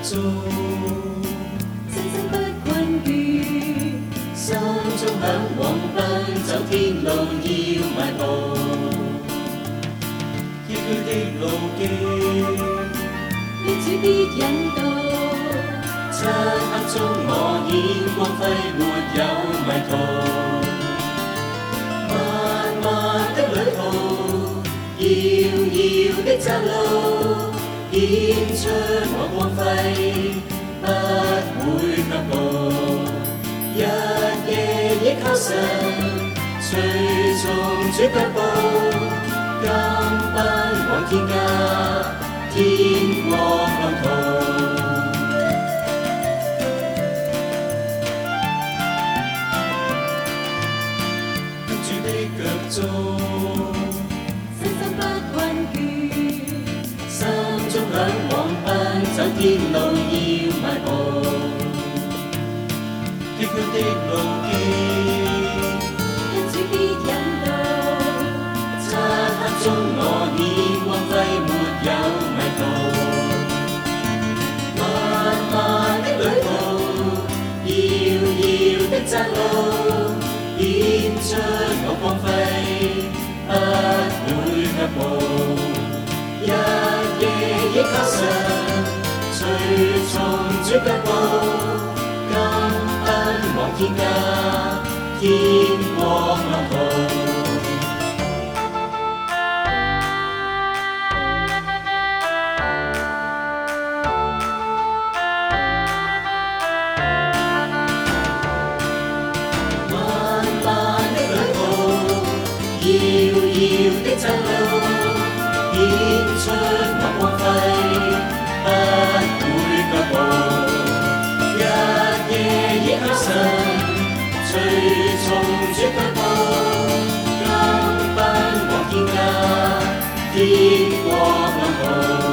蹤， 聲聲不困倦， 心中向往奔走天路要邁步，崎嶇的路徑， 於主必引導。 漆黑中我顯光輝，沒有迷途。漫漫的旅途，遙遙的窄路，顯出我光輝，不會卻步。日夜倚靠神，隨從主腳步，更奔往天家，天國路途。心不困倦， 心中向往奔走天路要邁步，崎嶇的路徑， 因主必引導。 漆黑中我顯光輝，沒有迷途。漫漫的旅途，遙遙的窄路，顯出我光輝，不會卻步。日夜倚靠神，隨從主腳步，更奔往天家，天國路途。遙遙的窄路，顯出我光輝，不會卻步。日夜倚靠神，隨從主腳步，更奔往天家，天國路途。